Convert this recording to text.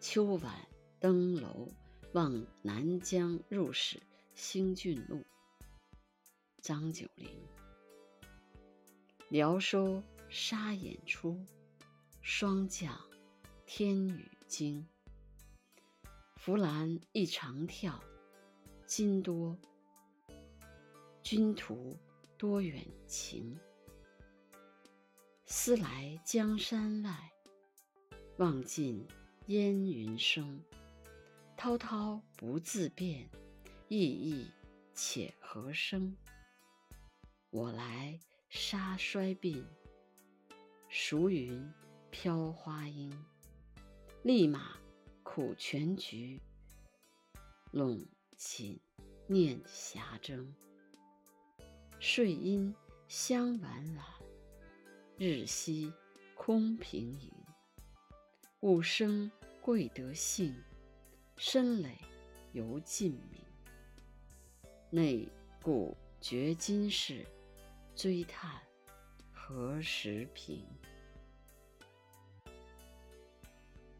秋晚登楼望南江入史兴郡路。张九龄。辽收沙眼出，霜降天雨惊。浮兰一长跳，君途多远情。思来江山外，望尽烟云生。滔滔不自辨，意义且何生。我来沙衰鬓，熟云飘花缨。立马苦全局，陇寝念霞征。睡阴香晚晚，日夕空平盈。物生贵德性，身累犹尽明。内顾绝今事，追叹何时平。